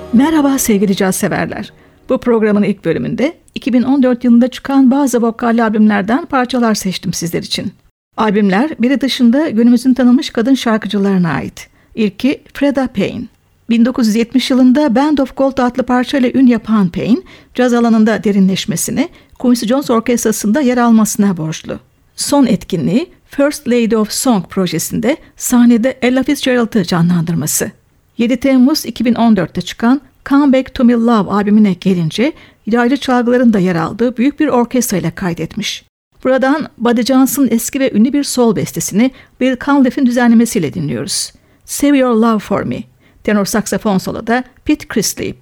Merhaba sevgili caz severler. Bu programın ilk bölümünde 2014 yılında çıkan bazı vokalli albümlerden parçalar seçtim sizler için. Albümler biri dışında günümüzün tanınmış kadın şarkıcılarına ait. İlki Freda Payne. 1970 yılında Band of Gold adlı parçayla ün yapan Payne, caz alanında derinleşmesini, Quincy Jones Orkestrası'nda yer almasına borçlu. Son etkinliği First Lady of Song projesinde sahnede Ella Fitzgerald'ı canlandırması. 7 Temmuz 2014'te çıkan Come Back to Me Love albümüne gelince yaylı çalgıların da yer aldığı büyük bir orkestra ile kaydetmiş. Buradan Buddy Johnson'ın eski ve ünlü bir soul bestesini Bill Cunliffe'in düzenlemesiyle dinliyoruz. Save Your Love For Me. Tenor saksafon soloda Pete Chrislip.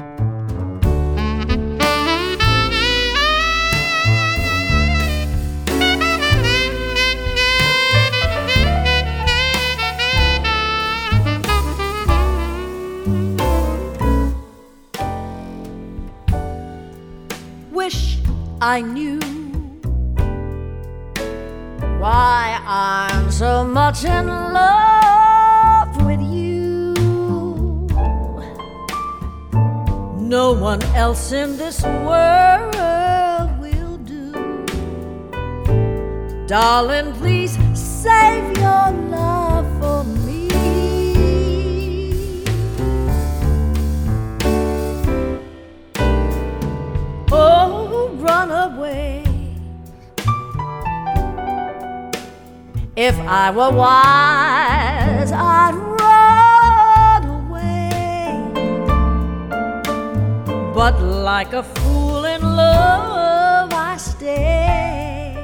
Wish I knew why I'm so much in love with you. No one else in this world will do. Darling, please save your love for me. Oh, run away. If I were wise, I'd run away. But like a fool in love, I stay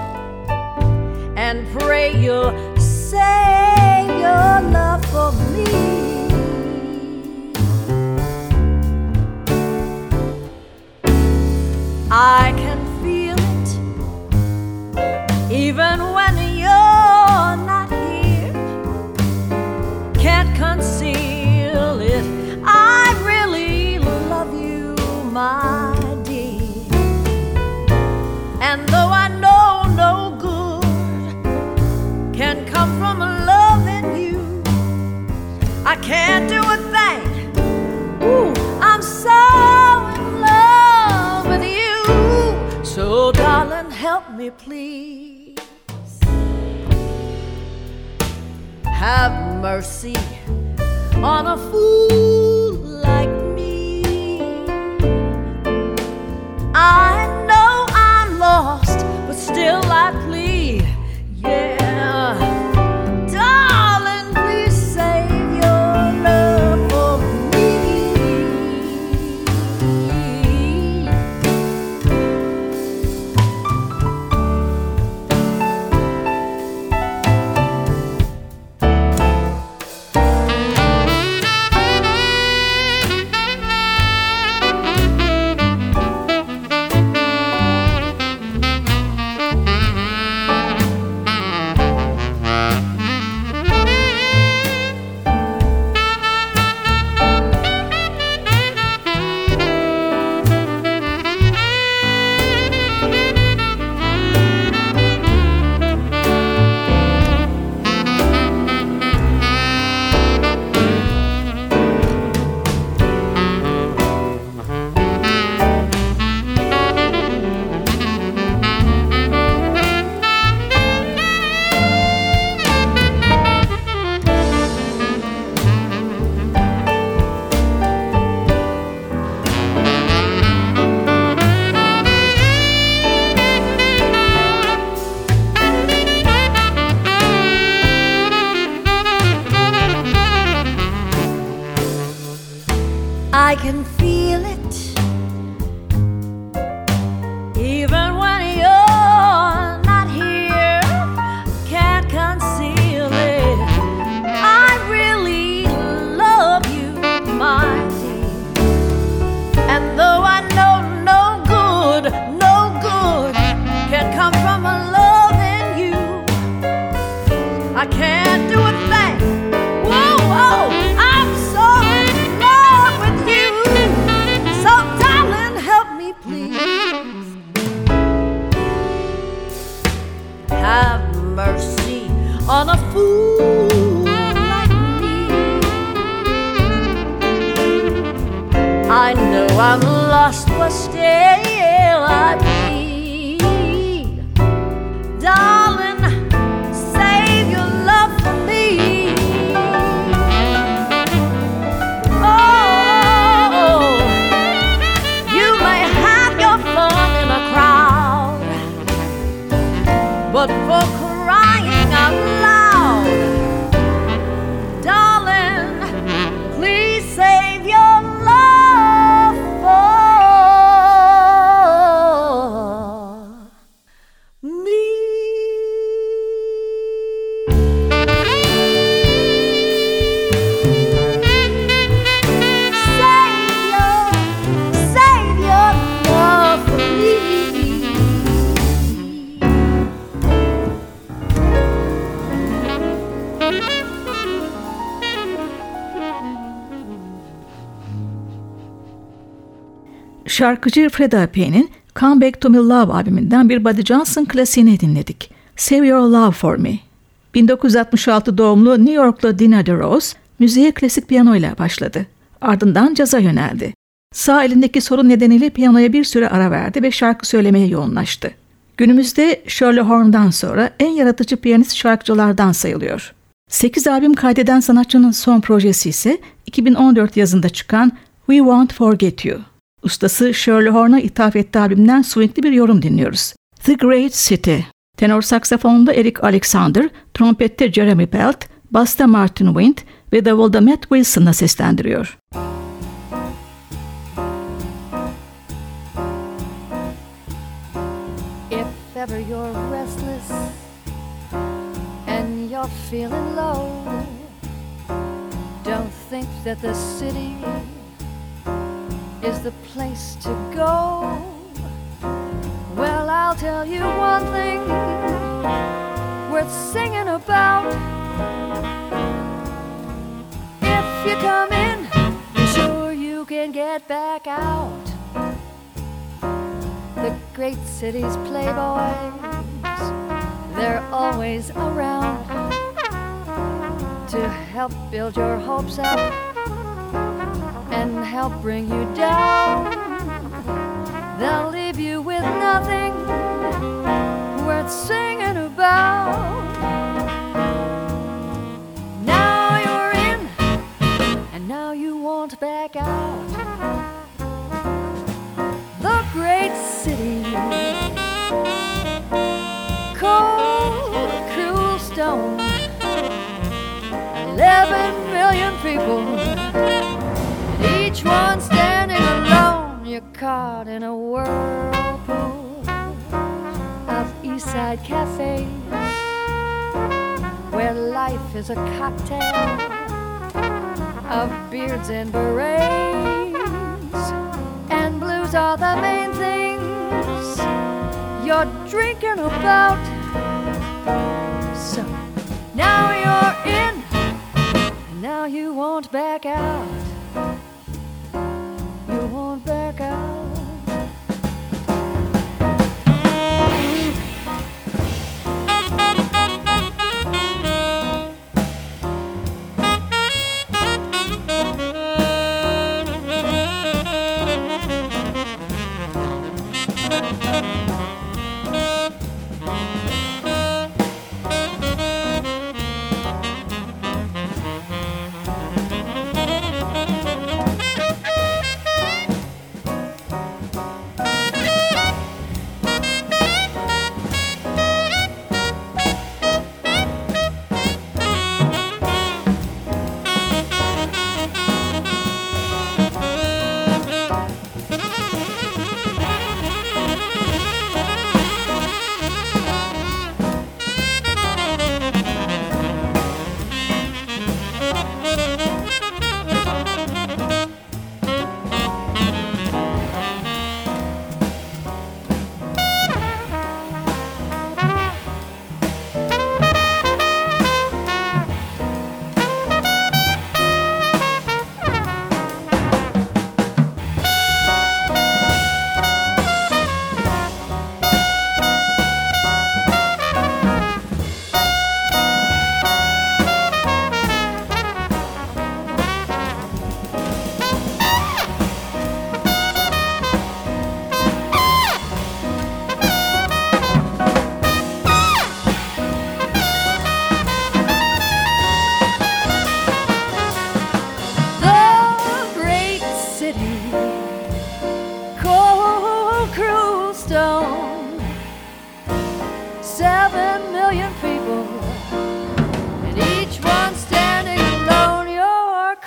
and pray you'll save your love for me. I can feel it even when you're not here. Can't conceal it. I really love you, my dear. And though I know no good can come from loving you, I can't do a thing. Ooh, I'm so in love with you. So darling, help me please. Have mercy on a fool like me. I know I'm lost, but still I plead. Yeah, darling, please save your love for me. I can feel it even when you're not here. Can't conceal it. I really love you, my dear. And though I know no good can come from a loving you, I can't do a thing. Whoa, whoa, I'm so in love with you. So I'm lost, but still I plead. Darling, save your love for me. Oh, you may have your fun in a crowd, but for crying out loud, darling, please save your love for me. Save your love for me. Şarkıcı Fred Apier'in Come Back to Me Love albümünden bir Buddy Johnson klasiğini dinledik. Save Your Love For Me. 1966 doğumlu New Yorklu Dina DeRose müziğe klasik piyanoyla başladı. Ardından caza yöneldi. Sağ elindeki sorun nedeniyle piyanoya bir süre ara verdi ve şarkı söylemeye yoğunlaştı. Günümüzde Shirley Horn'dan sonra en yaratıcı piyanist şarkıcılardan sayılıyor. 8 albüm kaydeden sanatçının son projesi ise 2014 yazında çıkan We Won't Forget You. Ustası Shirley Horn'a ithaf ettiği albümden swingli bir yorum dinliyoruz. The Great City. Tenor saksafonda Eric Alexander, trompette Jeremy Pelt, basta Martin Wind ve davulda Matt Wilson'la seslendiriyor. If ever you're restless and you're feeling low, don't think that the city is the place to go. Well, I'll tell you one thing worth singing about. If you come in, be sure you can get back out. The great city's playboys, they're always around to help build your hopes up and help bring you down. They'll leave you with nothing worth singing about. Now you're in, and now you won't back out. The great city, cold, cruel stone, 11 million people, each one standing alone. You're caught in a whirlpool of Eastside cafes, where life is a cocktail of beards and berets, and blues are the main things you're drinking about. So now you're in, and now you won't back out. You won't back out.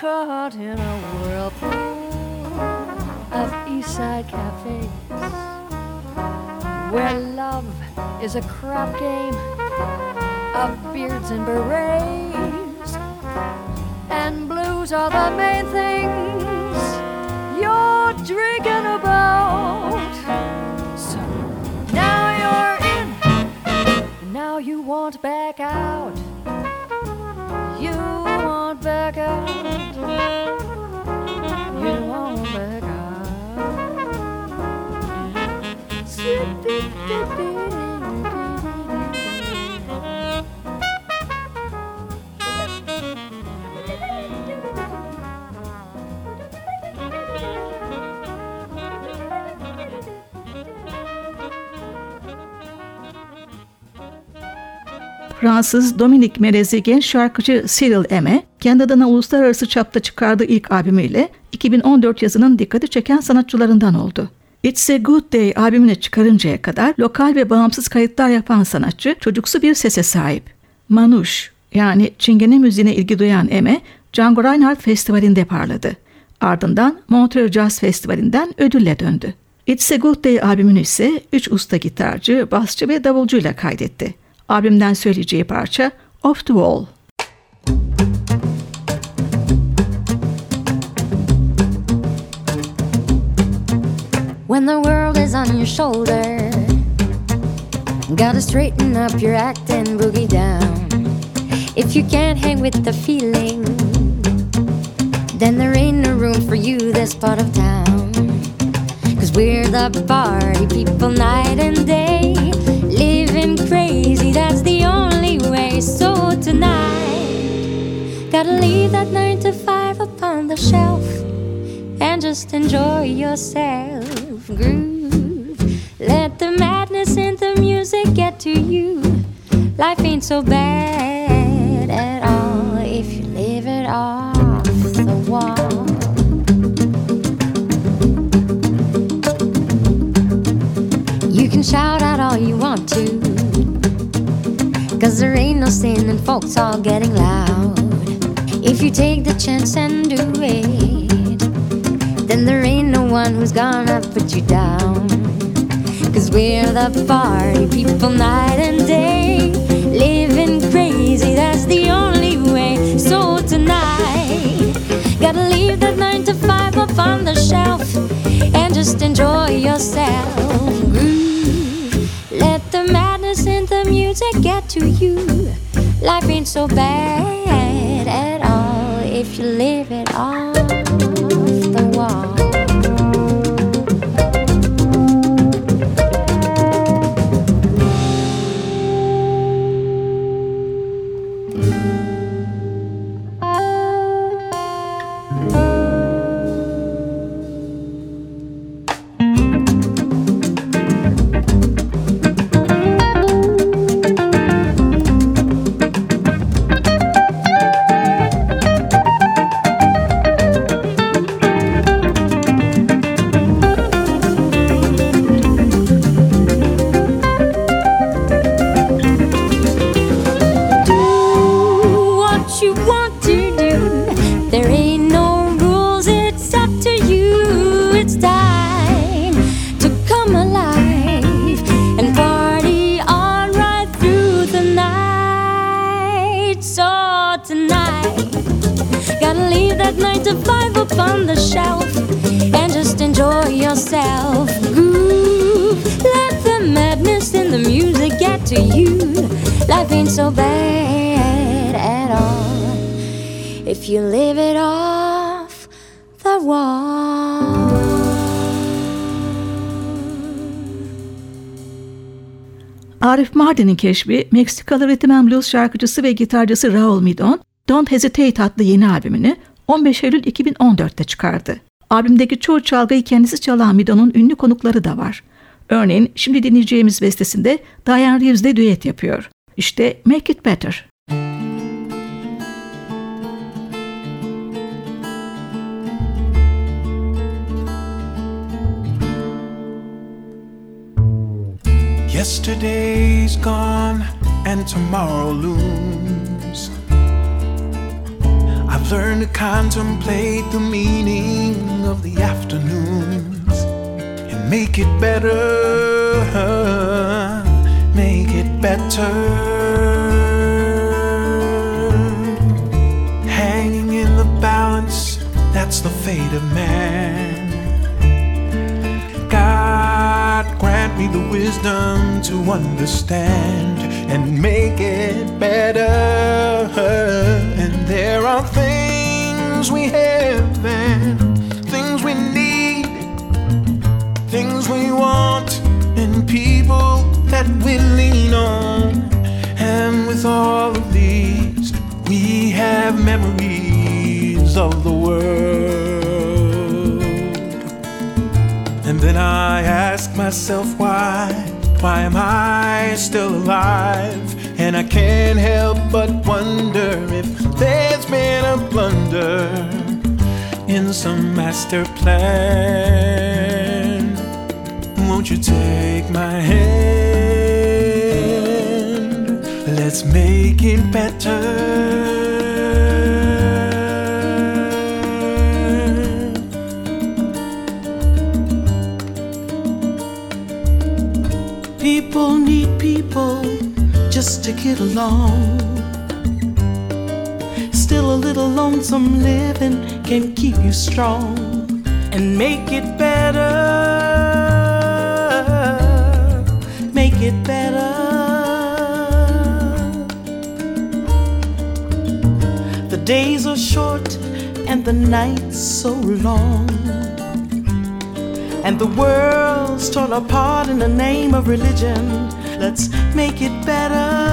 caught in a whirlpool of Eastside cafes, where love is a crap game of beards and berets, and blues are the main things you're drinking about. So now you're in, now you want back out. You want back out. You want back out. Fransız Dominique melezi genç şarkıcı Cyril Aimé, kendi adına uluslararası çapta çıkardığı ilk albümüyle 2014 yazının dikkati çeken sanatçılarından oldu. It's a Good Day albümünü çıkarıncaya kadar lokal ve bağımsız kayıtlar yapan sanatçı çocuksu bir sese sahip. Manouche yani Çingene müziğine ilgi duyan Aimé, Django Reinhardt Festivali'nde parladı. Ardından Montreux Jazz Festivali'nden ödülle döndü. It's a Good Day albümünü ise 3 usta gitarcı, basçı ve davulcuyla kaydetti. Albümden söyleyeceği parça Off the Wall. When the world is on your shoulder, gotta straighten up your act and boogie down. If you can't hang with the feeling, then there ain't no room for you this part of town. 'Cause we're the party people night and day, living crazy, that's the only way. So tonight, gotta leave that 9 to 5 upon the shelf and just enjoy yourself. Groove, let the madness in the music get to you. Life ain't so bad at all if you live it off the wall. You can shout out all you want to, 'cause there ain't no sin and folks all getting loud. If you take the chance and do it, then there ain't no one who's gonna put you down. 'Cause we're the party people night and day, living crazy, that's the only way. So tonight, gotta leave that 9 to 5 up on the shelf and just enjoy yourself. Groove, let the madness in the music get to you. Life ain't so bad at all if you live it off the wall. On the shelf and just enjoy yourself. Groove, let the madness in the music get to you. Life ain't so bad at all if you live it off the wall. Arif Mardin'in keşfi, Meksikalı Rhythm and Blues şarkıcısı ve gitarcısı Raul Midon, Don't Hesitate adlı yeni albümünü 15 Eylül 2014'te çıkardı. Albümdeki çoğu çalgıyı kendisi çalan Midon'un ünlü konukları da var. Örneğin şimdi dinleyeceğimiz bestesinde Diane Reeves'le düet yapıyor. İşte Make It Better. Yesterday's gone and tomorrow looms. I've learn to contemplate the meaning of the afternoons and make it better, make it better. Hanging in the balance, that's the fate of man. God grant me the wisdom to understand and make it better. And there are things we have and things we need, things we want and people that we lean on. And with all of these, we have memories of the world. And then I ask myself why am I still alive? And I can't help but wonder if there's been a blunder in some master plan. Won't you take my hand? Let's make it better. People need people just to get along. Still a little lonesome living can keep you strong and make it better, make it better. The days are short and the nights so long, and the world's torn apart in the name of religion. Let's make it better.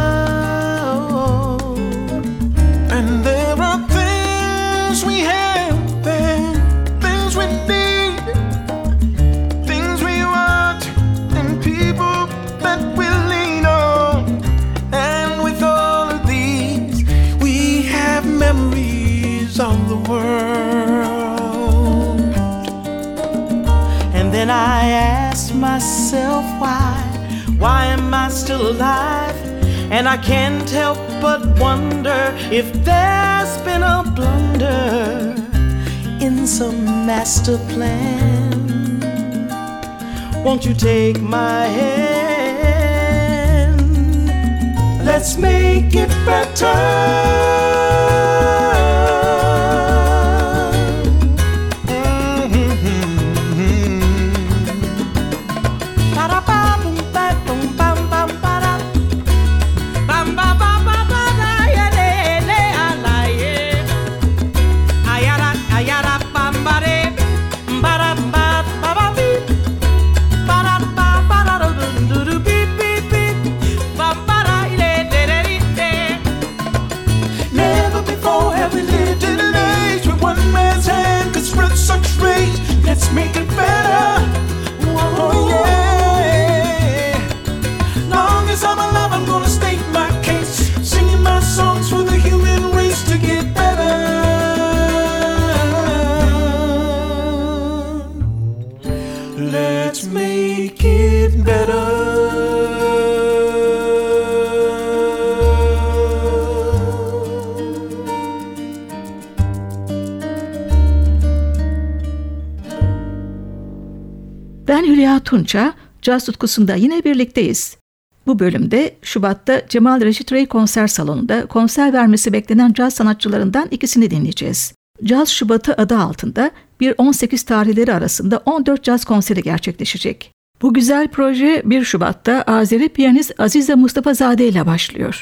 And there are things we have and things we need, things we want and people that we lean on. And with all of these, we have memories of the world. And then I ask myself why am I still alive? And I can't help but wonder if there's been a blunder in some master plan. Won't you take my hand? Let's make it better. Let's make it better. Oh yeah. Long as I'm alive, I'm gonna state my case, singing my songs for the human race to get better. Let's make it better. Ben Hülya Tunça, caz tutkusunda yine birlikteyiz. Bu bölümde Şubat'ta Cemal Reşit Rey konser salonunda konser vermesi beklenen caz sanatçılarından ikisini dinleyeceğiz. Caz Şubatı adı altında 1-18 tarihleri arasında 14 caz konseri gerçekleşecek. Bu güzel proje 1 Şubat'ta Azeri piyanist Azize Mustafazade ile başlıyor.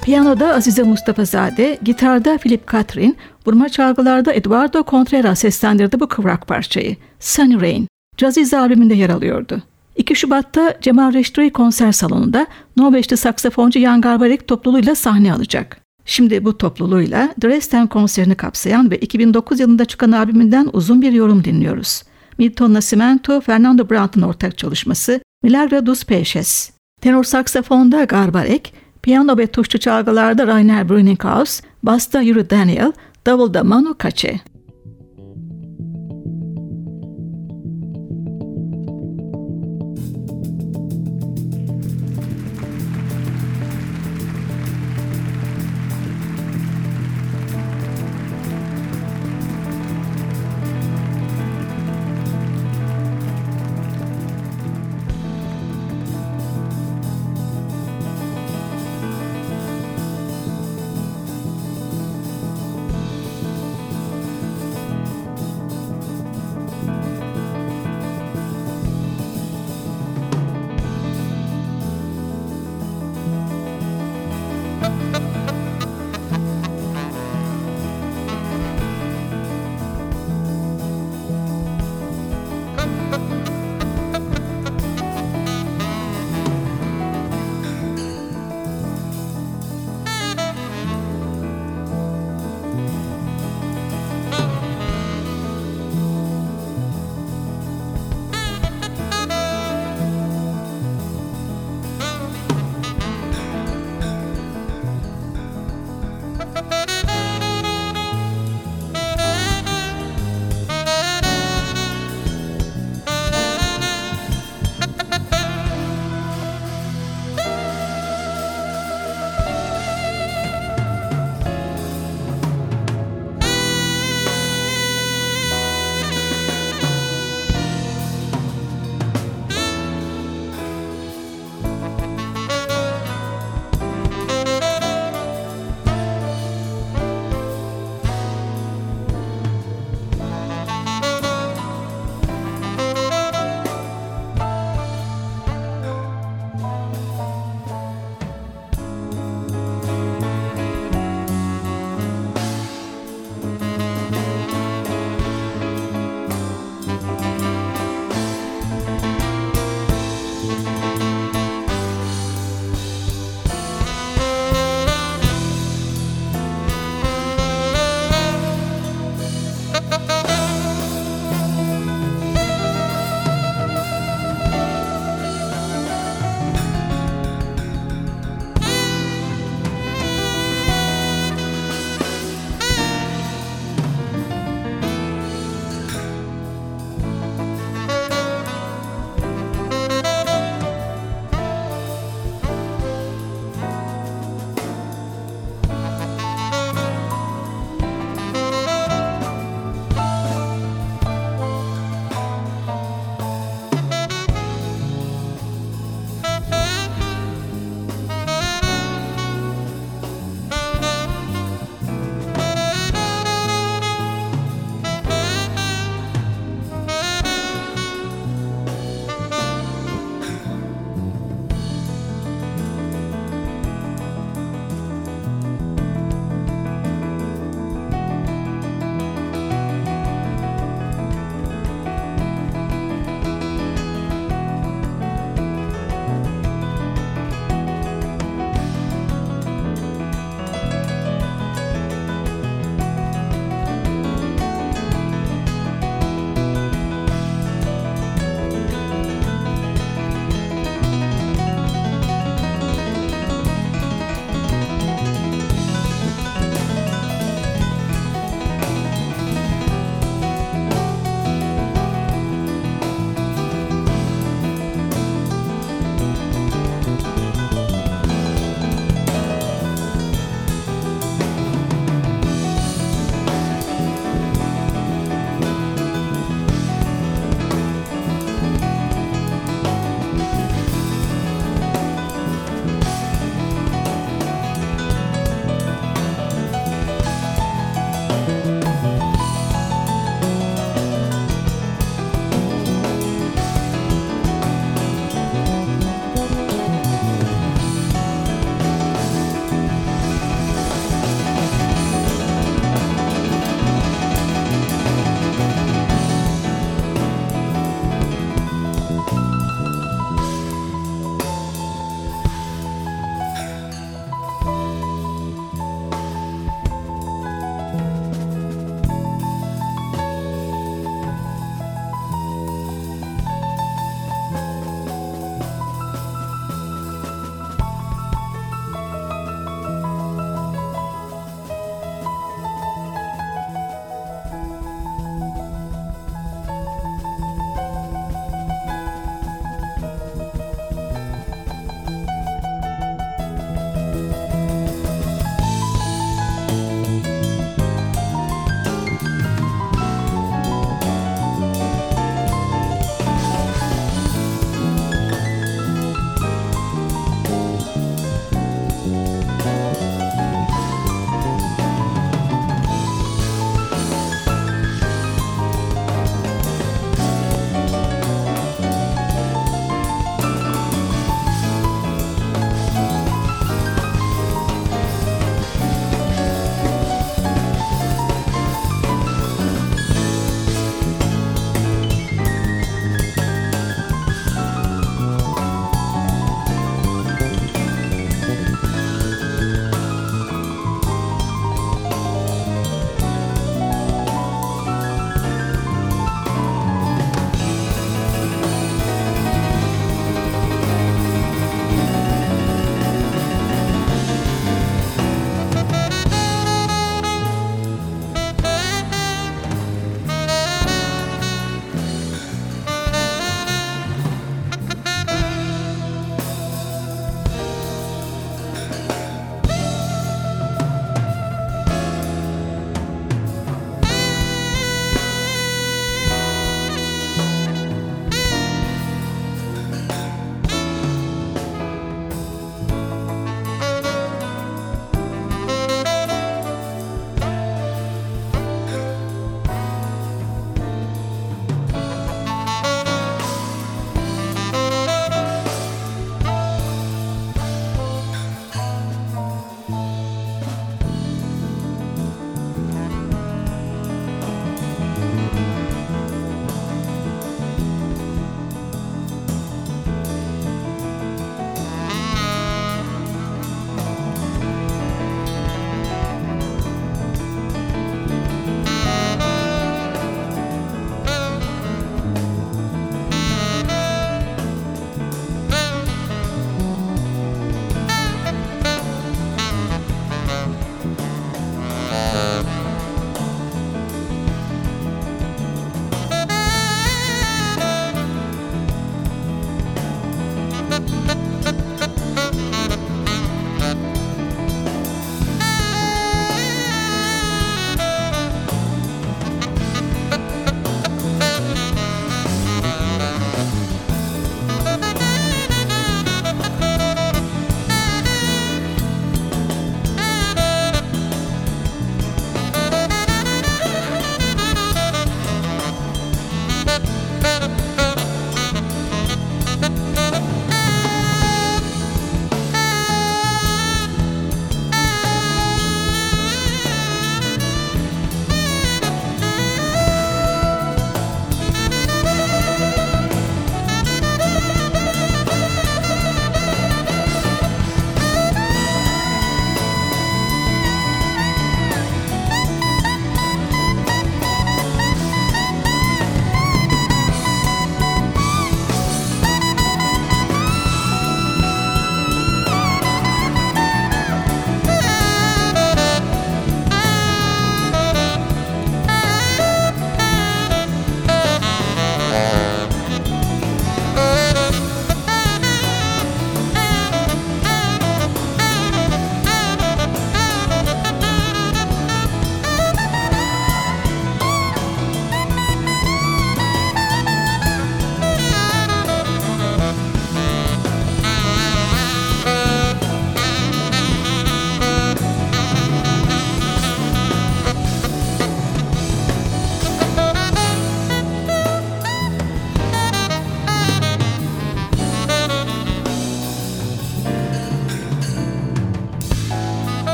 Piyanoda Azize Mustafazade, gitarda Philip Catherine, vurma çalgılarda Eduardo Contreras seslendirdi bu kıvrak parçayı. Sunny Rain, Caziz albümünde yer alıyordu. 2 Şubat'ta Cemal Reşitri konser salonunda Norveçli saksafoncu Jan Garbarek topluluğuyla sahne alacak. Şimdi bu topluluğuyla Dresden konserini kapsayan ve 2009 yılında çıkan albümünden uzun bir yorum dinliyoruz. Milton Nascimento, Fernando Brandt'ın ortak çalışması Milagro dos Peixes. Tenor saksafonda Garbarek, piyano ve tuşlu çalgılarda Rainer Brenninghaus, basta Yuri Daniel, davulda Manu Katché.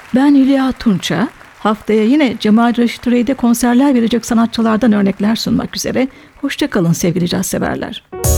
Ben Hülya Tunça. Haftaya yine Cemal Reşit Rey'de konserler verecek sanatçılardan örnekler sunmak üzere. Hoşça kalın sevgili caz severler.